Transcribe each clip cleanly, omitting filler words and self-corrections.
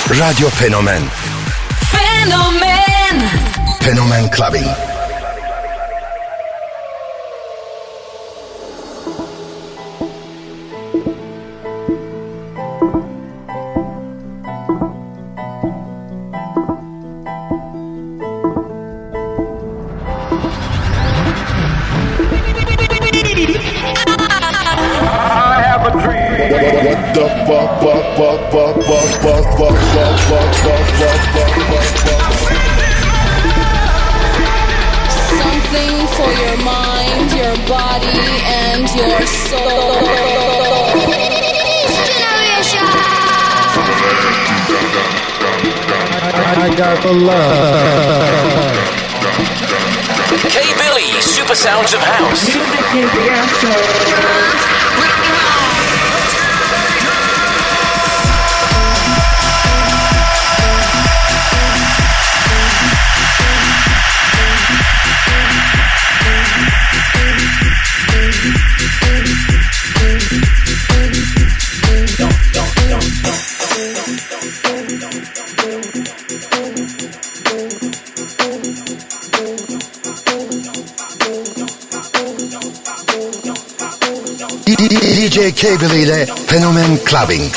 Radyo Fenomen. Fenomen. Fenomen Clubbing. Something for your mind, your body, and your soul. I got the love. K Billy, Super Sounds of House. Music is the answer. DJ K Billy ile Fenomen Clubbing.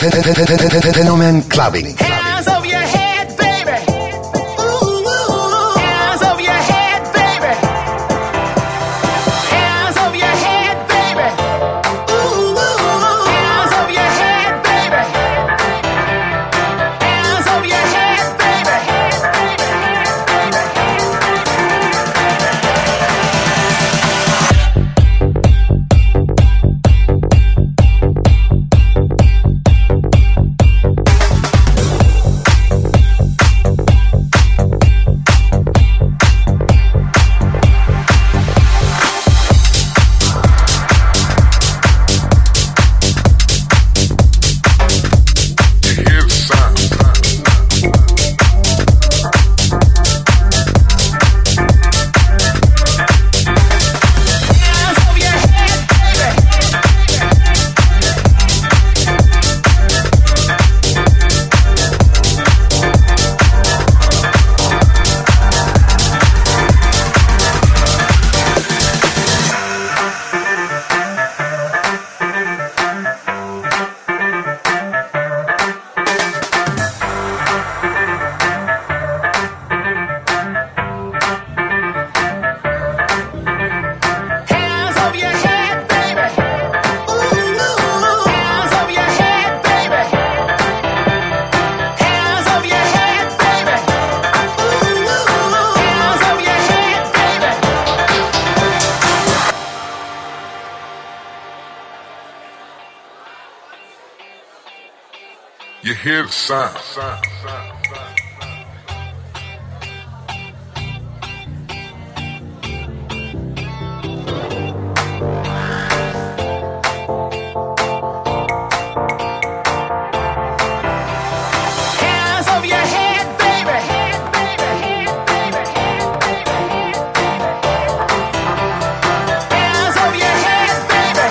Fenomen Clubbing. Hands over your head, baby. Ooh, hands over your head, baby. Hands over your head, baby. Ooh, hands over your head, baby. Hands over your head, baby. You hear the sound. Hands over your head, baby. Hands over your head, baby.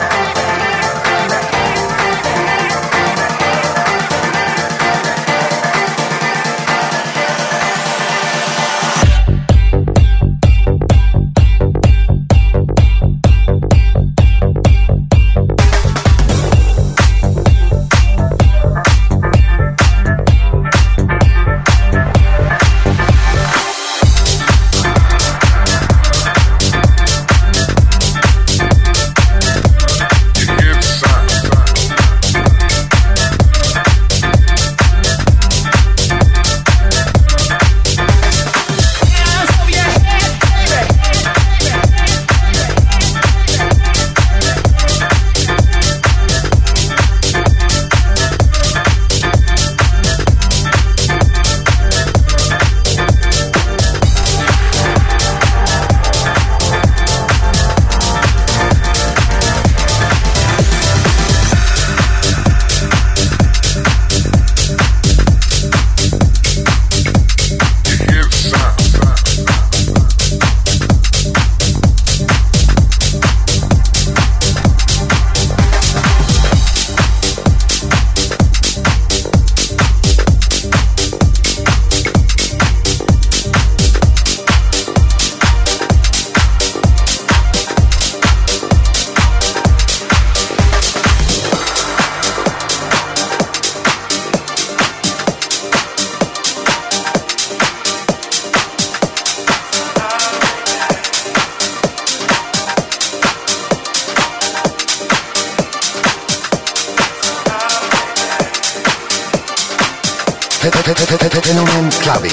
Fenomen Clubbing.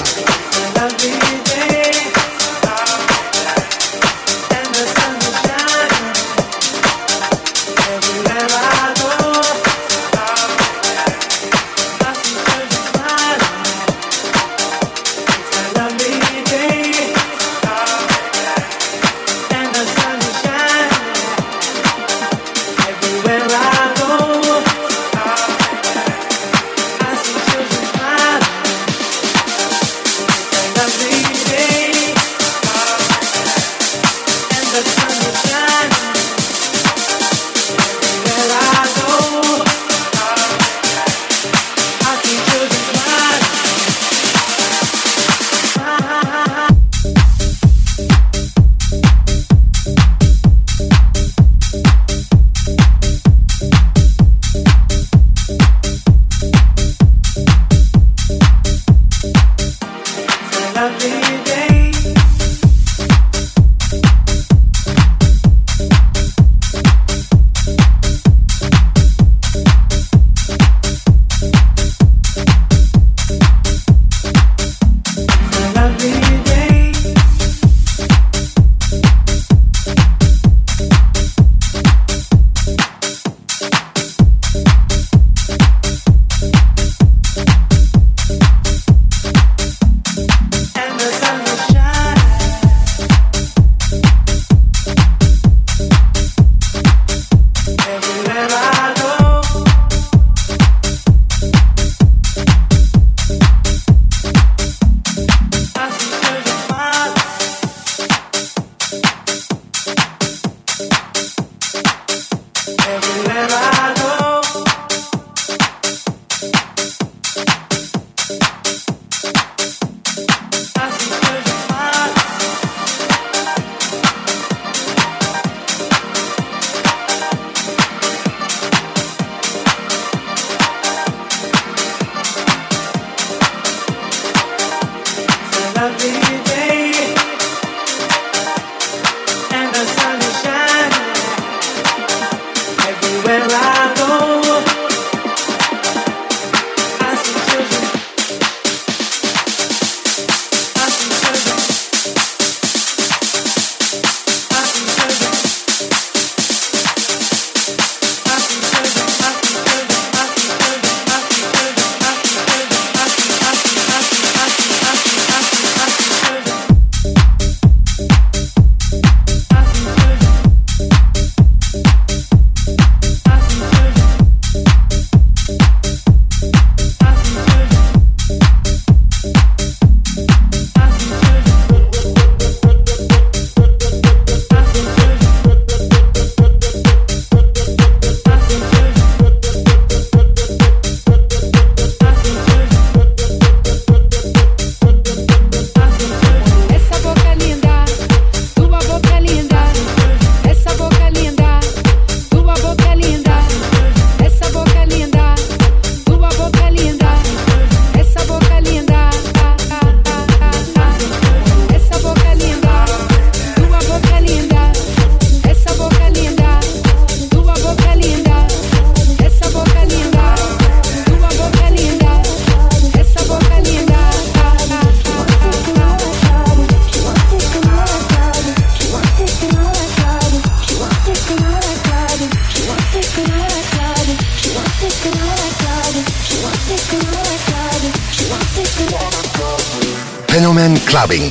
Fenomen Clubbing.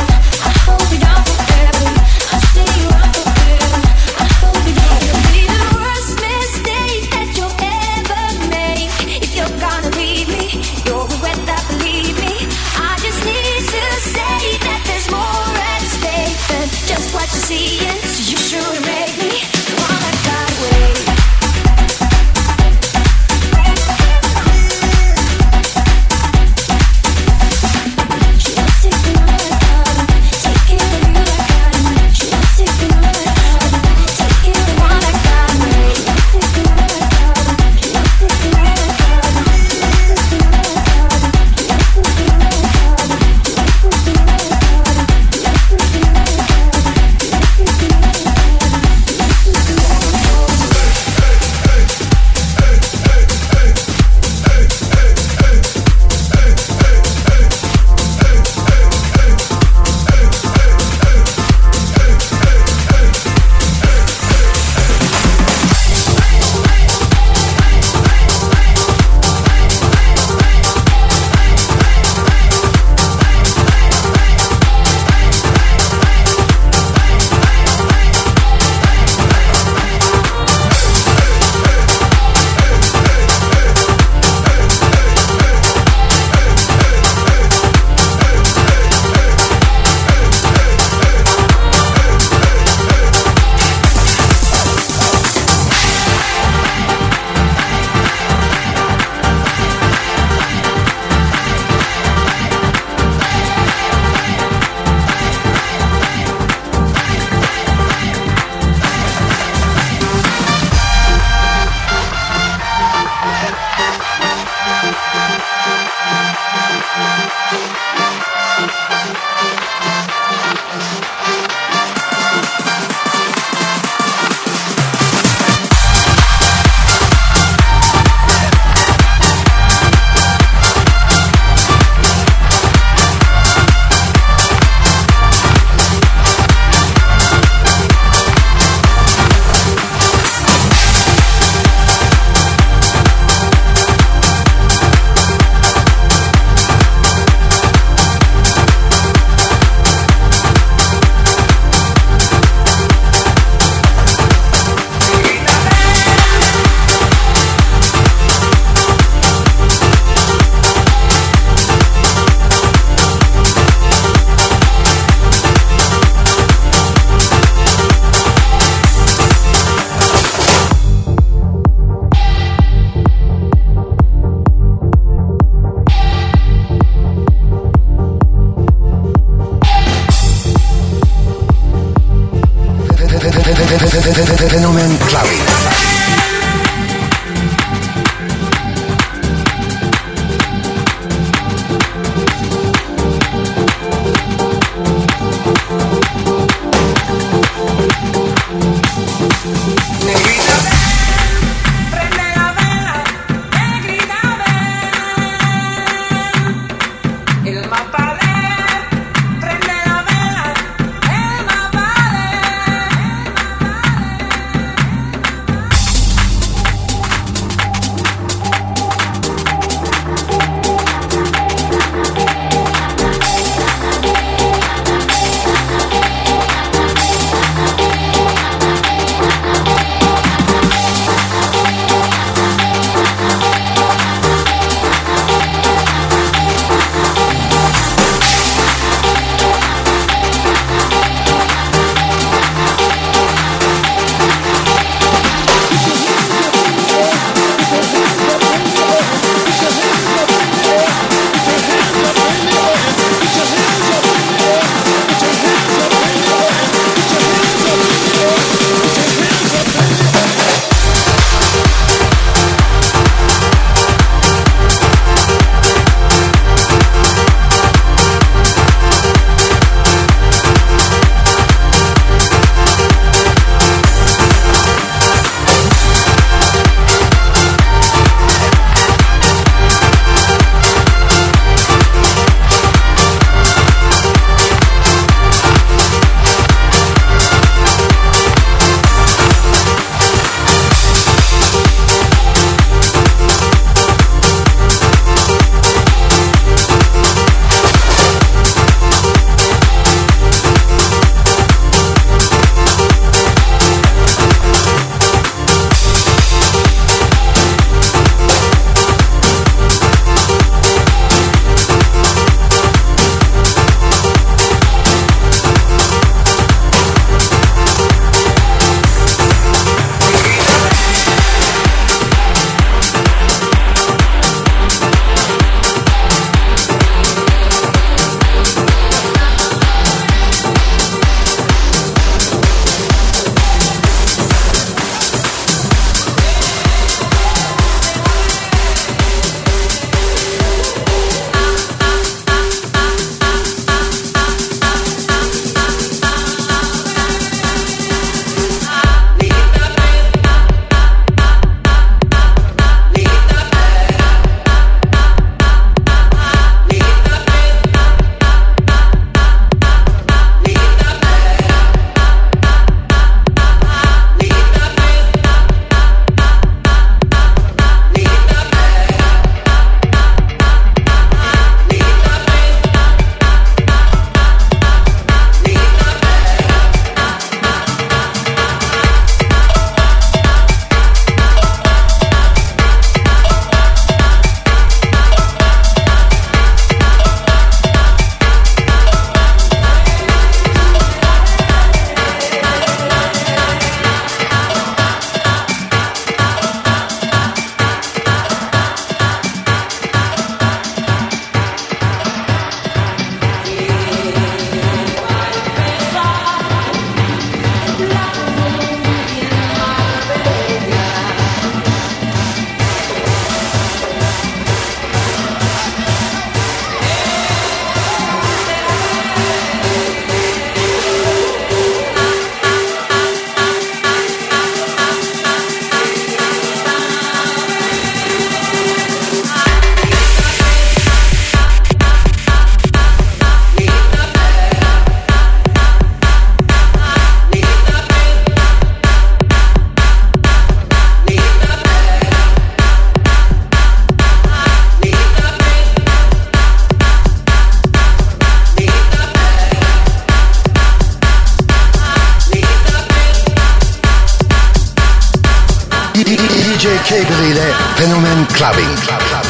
Be Cable ile Fenomen Clubbing.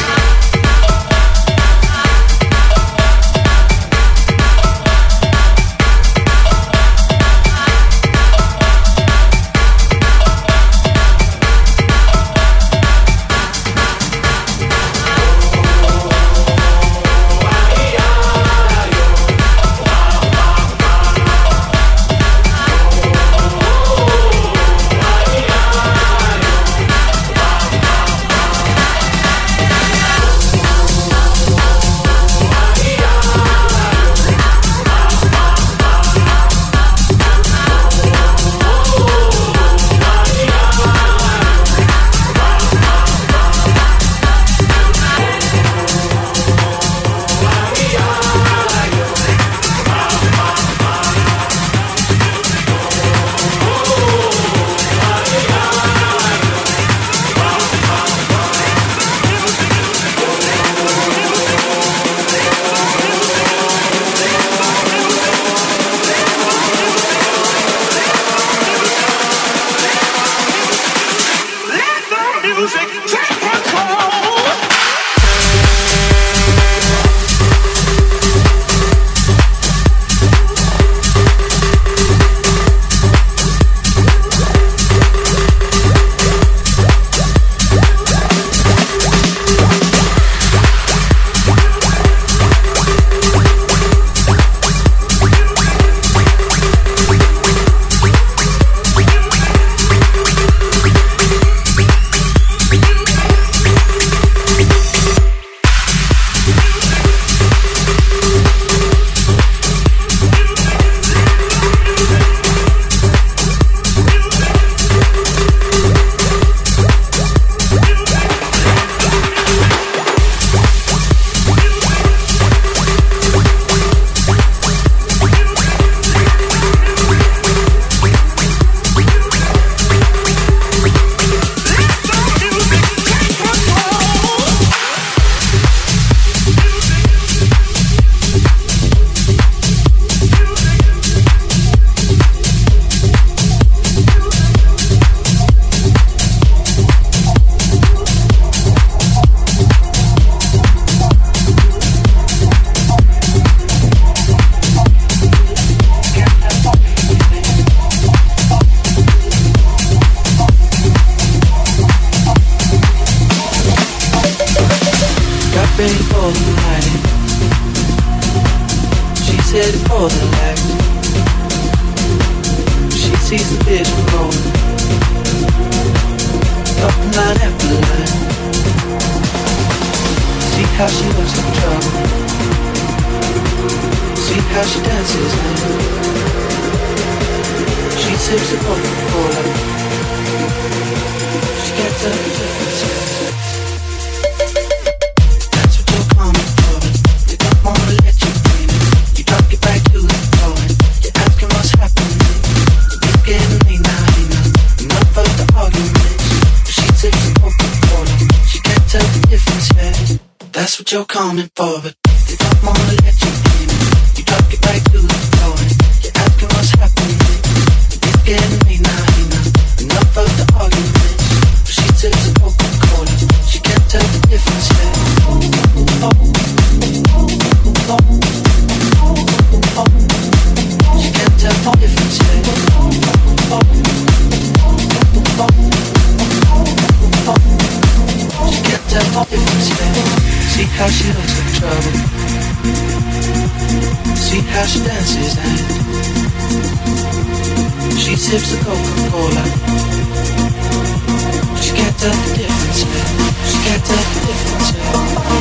You're coming for, but they don't wanna let you in. You drop it right to the floor. You're asking what's happening. It's getting late now. Enough of the arguments. She takes a Coca-Cola. She can't tell the difference yet. She can't tell the difference yet. She can't tell the difference yet. See how she looks like trouble. See how she dances and she sips the Coca-Cola. She can't tell the difference yet. She can't tell the difference yet.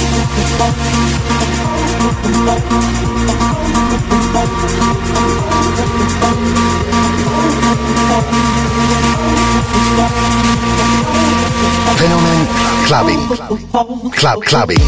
Fenomen Clubbing. Clubbing.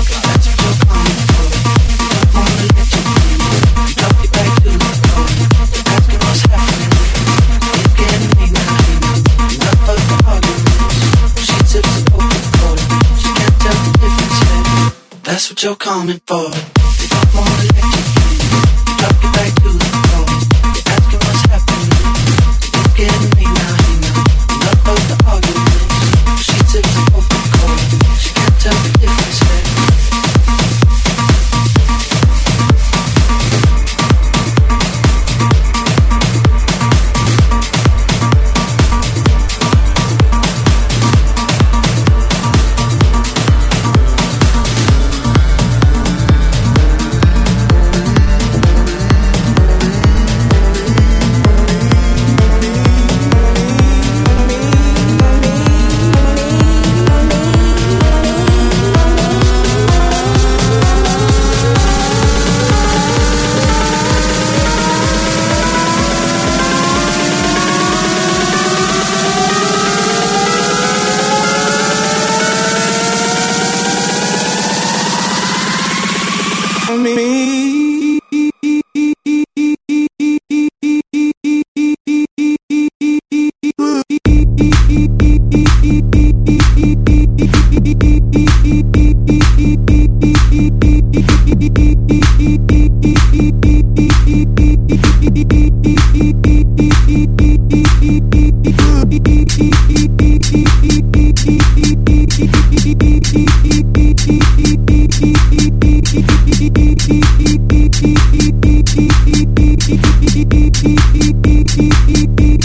That's what you're coming for. They don't wanna let you in. You drop it back to the floor. You're asking what's happening. It's getting late now. Enough of the arguments. She tips the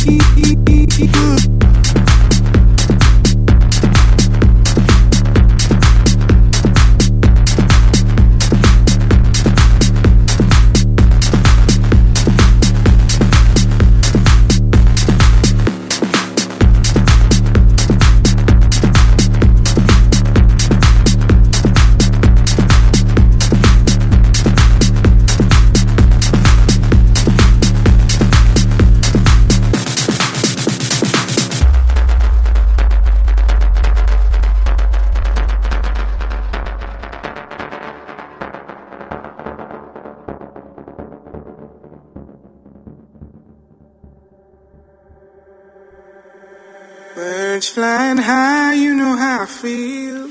Birds flying high, you know how I feel.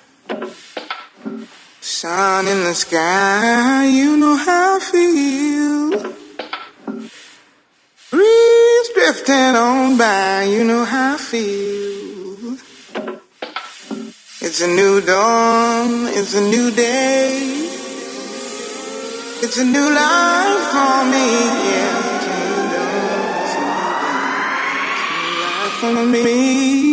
Sun in the sky, you know how I feel. Breeze drifting on by, you know how I feel. It's a new dawn, it's a new day. It's a new life for me, yeah. For me.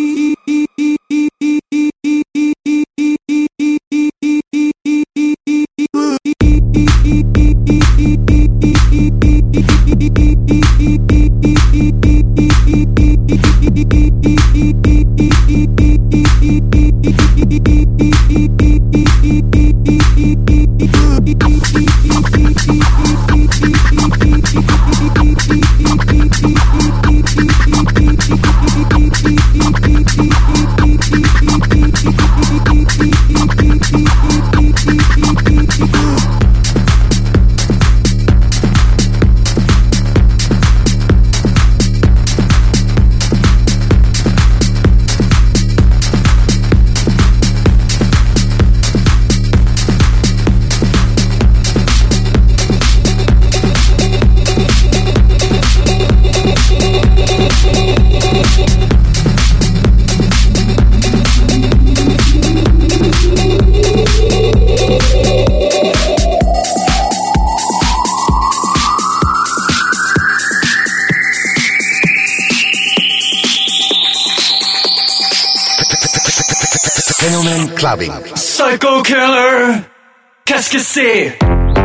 Fenomen Clubbing. Psycho Killer, qu'est-ce que c'est?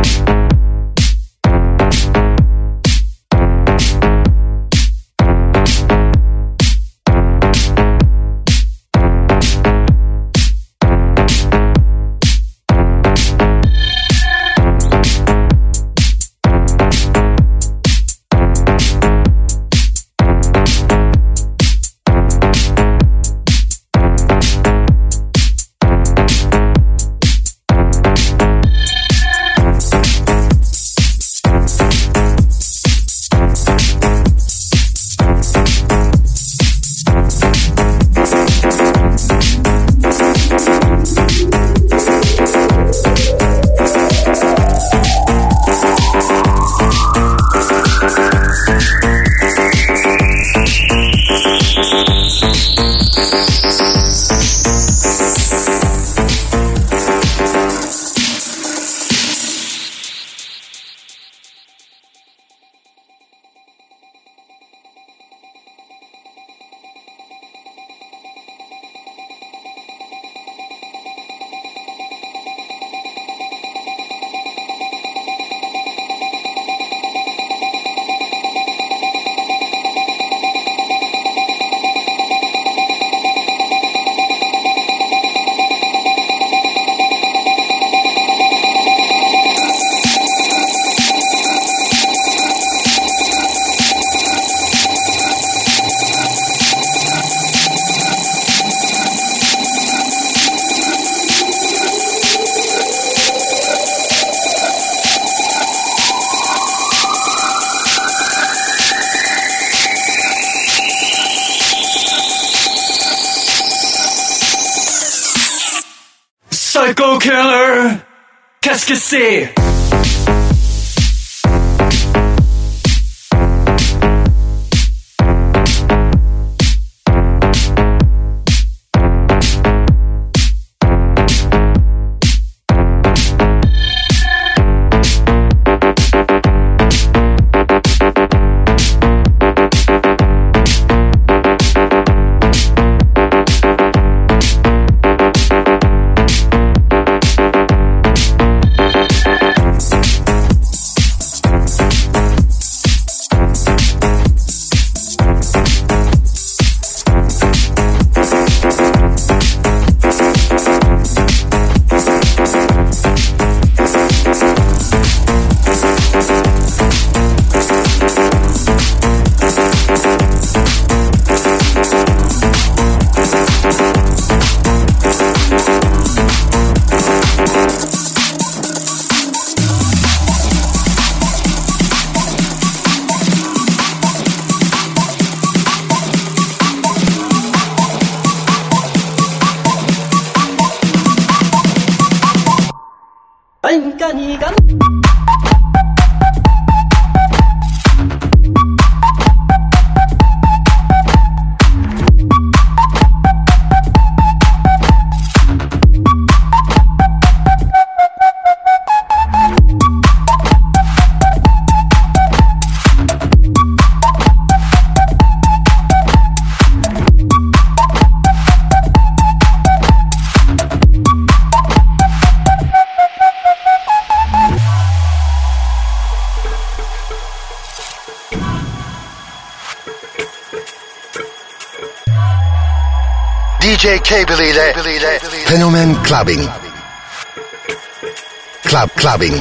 Psycho Killer, qu'est-ce que c'est? DJ Cable ile Fenomen Clubbing. Clubbing.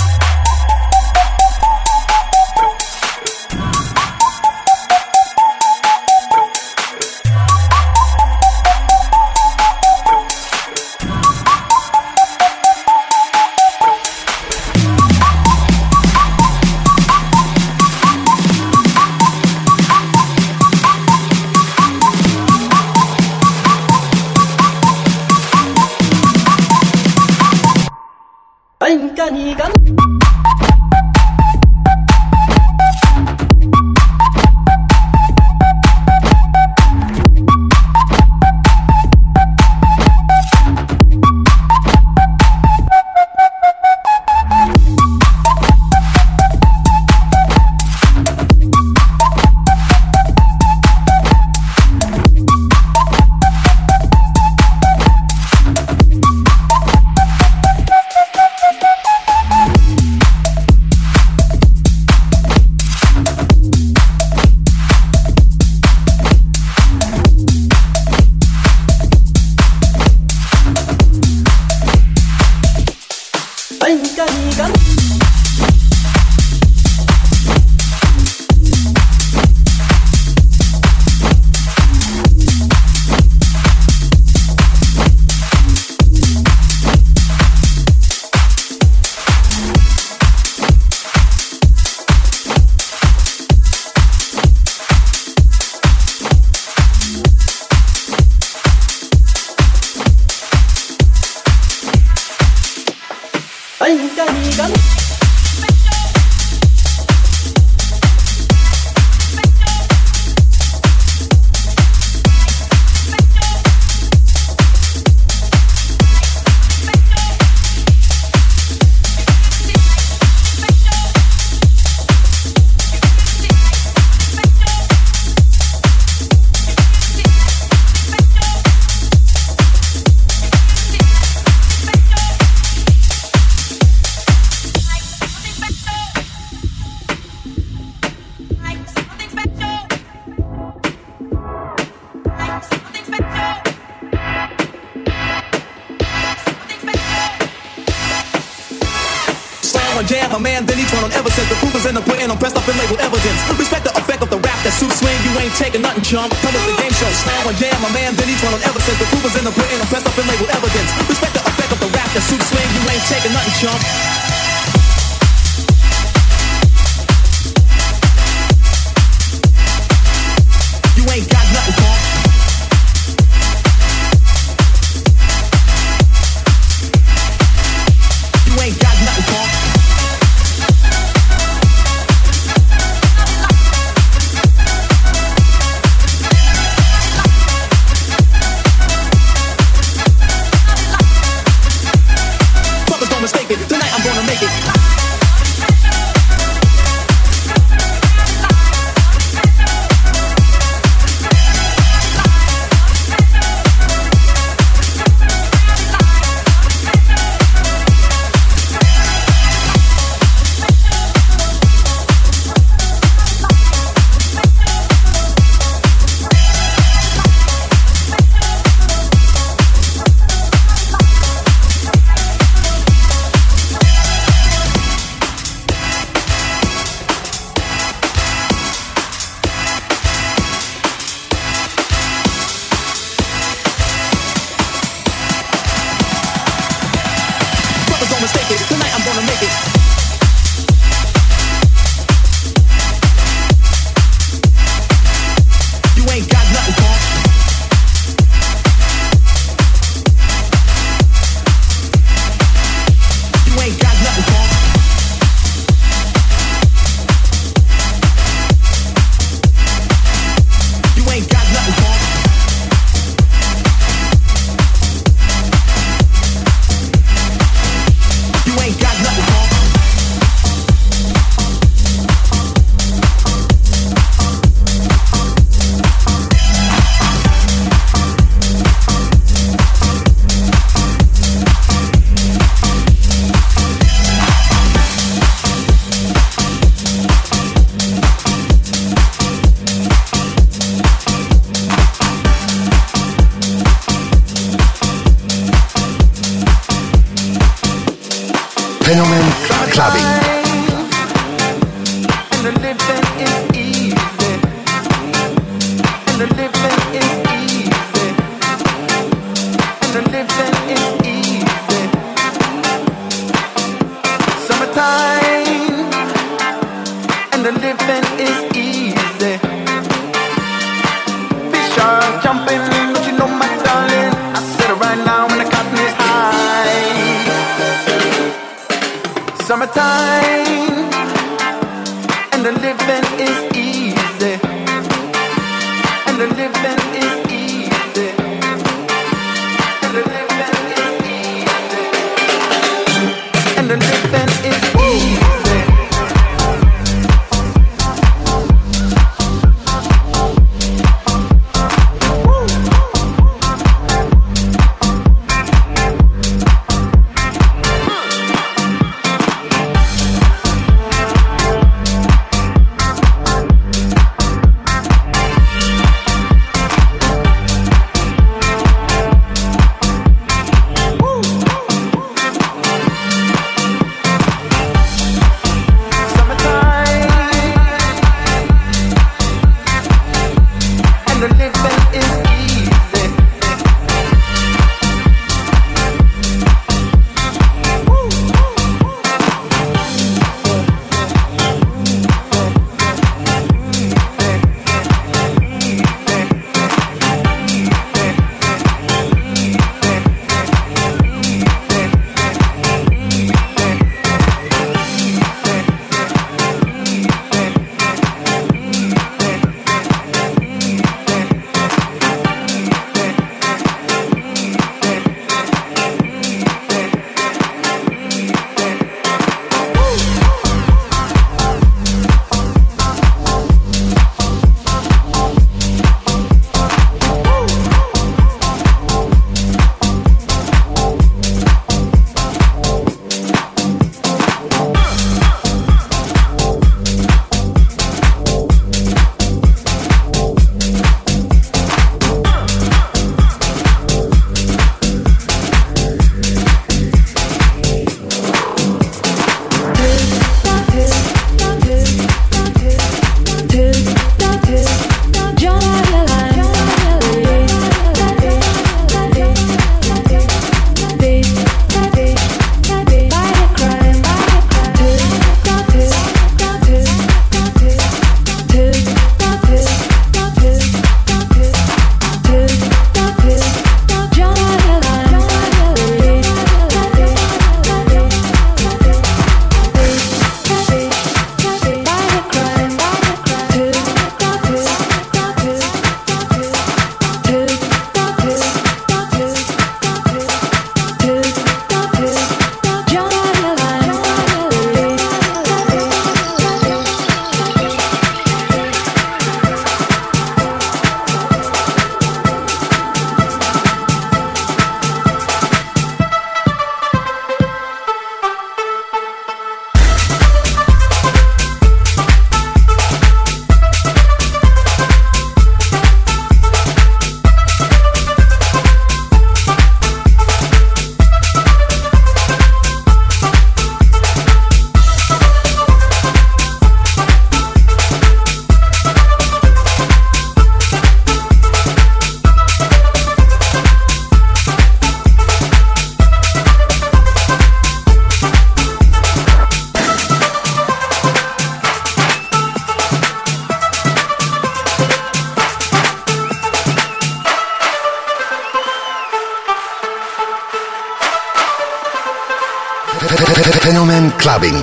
Jam a man, then he turn on ever since the proof is in the pudding, I'm pressed up and labeled evidence. Respect the effect of the rap that suits swing, you ain't taking nothing, chump. Come with the game show, slam on jam a man, then he turn on ever since the proof is in the pudding, I'm pressed up and labeled evidence. Respect the effect of the rap that suits swing, you ain't taking nothing, chump. You ain't got nothing, punk. You ain't got nothing, punk. Tonight I'm gonna make the living is easy, and the living is easy. Summertime, and the living is easy. Fish are jumping, but you know my darling, I said it right now when the cotton is high. Summertime, and the living is easy, and the living is easy, and the living is easy, and the living is easy. Fenomen Clubbing.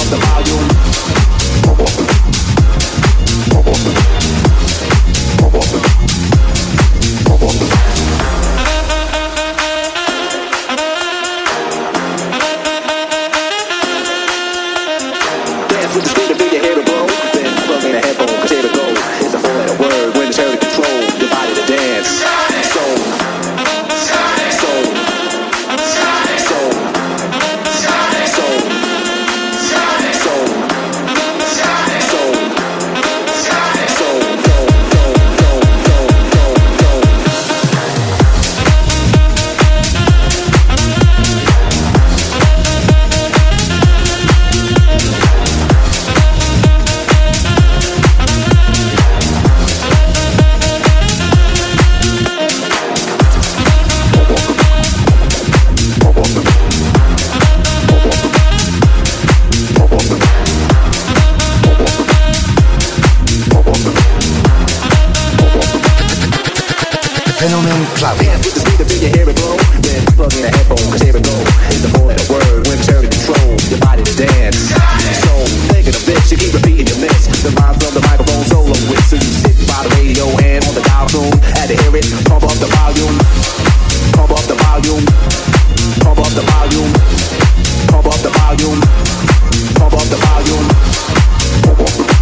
Fenomen Clubbing. With the speaker till you hear it blow. Then plug in a headphone, cause here it go. It's the four-letter word when turn to control your body to dance. So, thinking of this, you keep repeating your miss. The line from the microphone solo with. So you sit by the radio and on the dial tune. Had to hear it, pump up the volume. Pump up the volume. Pump up the volume. Pump up the volume. Pump up the volume. Pump up the volume.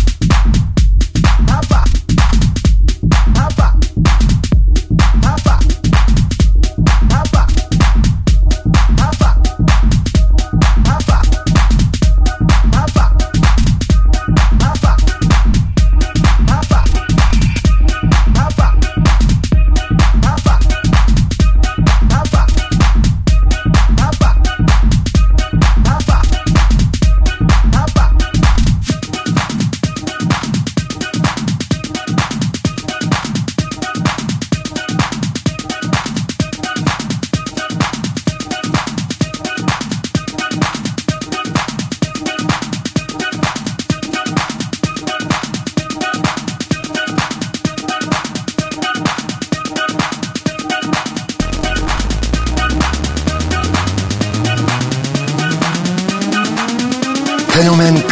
Papa.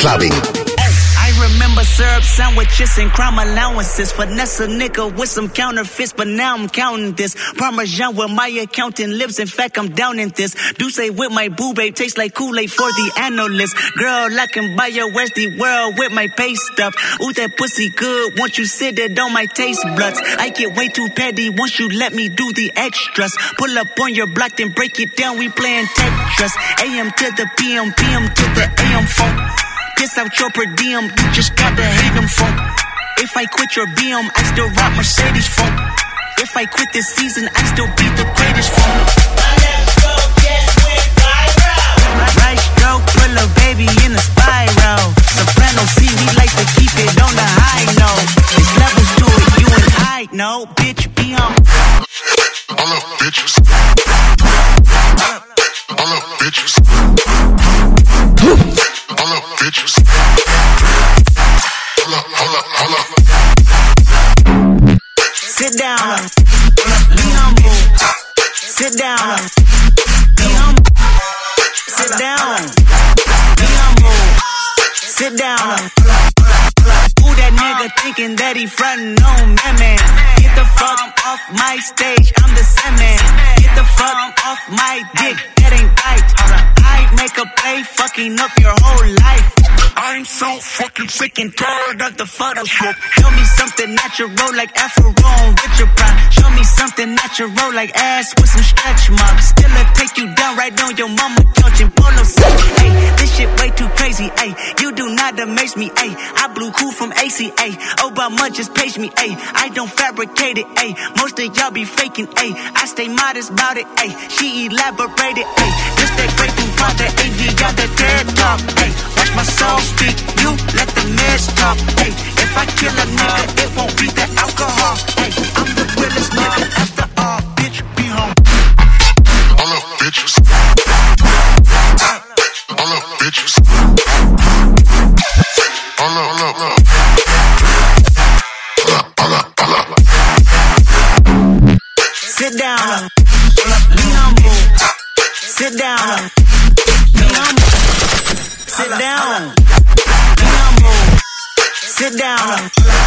Clubbing. I remember syrup sandwiches and crime allowances. Finesse a nigga with some counterfeits, but now I'm counting this. Parmesan where my accountant lives. In fact, I'm down in this. Douce with my boo babe tastes like Kool-Aid for the analyst. Girl, I can buy your Westie world with my pay stuff. Ooh, that pussy good. Once you sit it on my taste buds. I get way too petty once you let me do the extras. Pull up on your block, then break it down. We playing Tetris. AM to the PM, PM to the AM funk. Piss out your per diem, you just gotta hate them funk. If I quit your BM, I still rock Mercedes funk. If I quit this season, I still be the greatest funk. Right stroke, pull a baby in a spiral. Soprano C, we like to keep it on the high note. There's levels to it, you and I know. Bitch, be on. All up, bitches. All up, bitches. All up, bitches. Hold up. Sit down. Be humble. Sit down. Be humble. Sit down. Be humble. Sit down. Who that nigga thinking that he frontin' on me, man? Get the fuck off my stage, I'm the same man. Get the fuck off my dick, that ain't right. I make a play, fucking up your whole life. I'm so fucking sick and tired of the Photoshop. Show me something natural like Afro with your prime. Show me something natural like ass with some stretch marks. Still I take you down right on your mama couch in polo set. Hey, this shit way too crazy. Hey, you do not amaze me. Hey, I blew cool from ACA. Obama just paged me. Hey, I don't fabricate it. Hey, most of y'all be faking. Hey, I stay modest about it. Hey, she elaborated. Hey, this that great food part that AV got that dead talk. Hey, watch my soul speak. You let the mess talk. Hey, if I kill a nigga, it won't be the alcohol. Hey, I'm the realest nigga after all. Bitch, be home. All up, bitches. All up, bitches. All up. Sit down. Be humble. Sit down. Be humble. Sit down. Be humble. Sit down.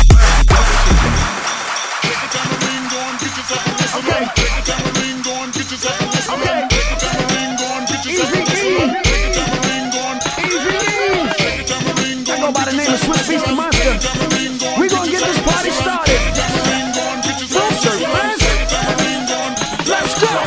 I go by the name of Swiss Beast the Monster. We gonna get this party started. Let's go.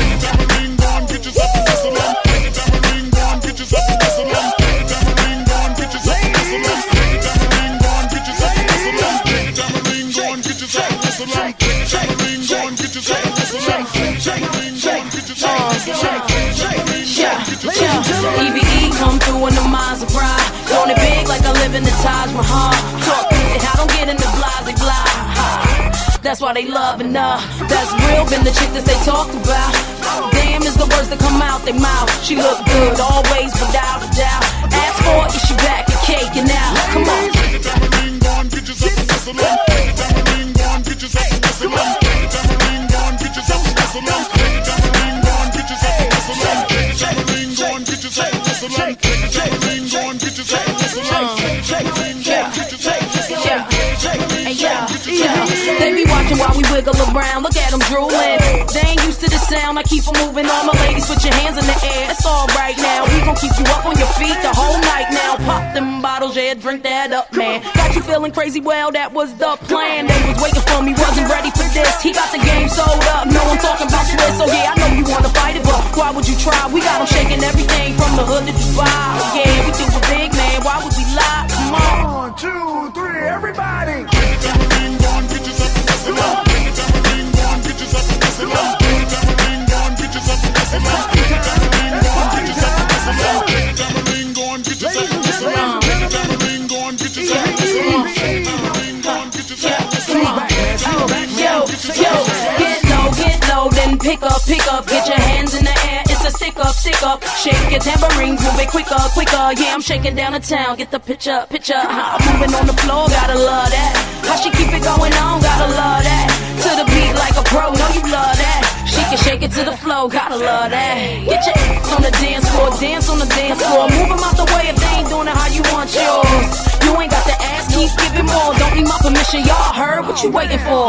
EVE come through in the minds of pride. Doing it big like I live in the Taj Mahal. Talk it, I don't get in the blah. That's why they loving that's real, been the chick that they talked about. Damn is the words that come out their mouth. She look good always without a doubt. Ask for it, she back and cake and now. Come on. They be watching while we wiggle around. Look at them drooling. They ain't used to the sound. I keep them moving. All my ladies, put your hands in the air. It's all right now. We gon' keep you up on your feet the whole night now. Pop them bottles, yeah, drink that up, man. Got you feeling crazy? Well, that was the plan. They was waiting for me, wasn't ready for this. He got the game sold up. No one talking about Swiss. So yeah, I know you wanna fight it, but why would you try? We got them shaking everything from the hood to Dubai. Oh, yeah, we do a big man. Why would we lie? Come on. 1, 2, 3, everybody. Get low, then pick up, get your hands in the air, it's a stick up, shake your tambourines, move it quicker, yeah, I'm shaking down the town, get the picture, moving on the floor, gotta love that, how she keep it going on, gotta love that, to the beat like a pro, know you love that, she can shake it to the floor. slow, gotta love that. Get your ass on the dance floor, dance on the dance floor. Move 'em out the way if they ain't doing it how you want yours. You ain't got to ask, keep giving more. Don't need my permission, y'all heard what you waiting for.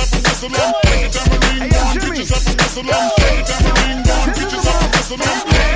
Hey, yo, Jimmy.